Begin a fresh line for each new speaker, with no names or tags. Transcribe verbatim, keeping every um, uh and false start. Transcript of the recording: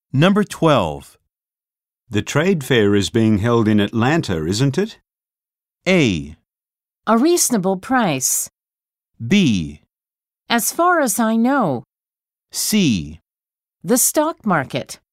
Number twelve. The trade fair is being held in Atlanta, isn't it? A.
A reasonable price.
B.
As far as I know.
C.
The stock market.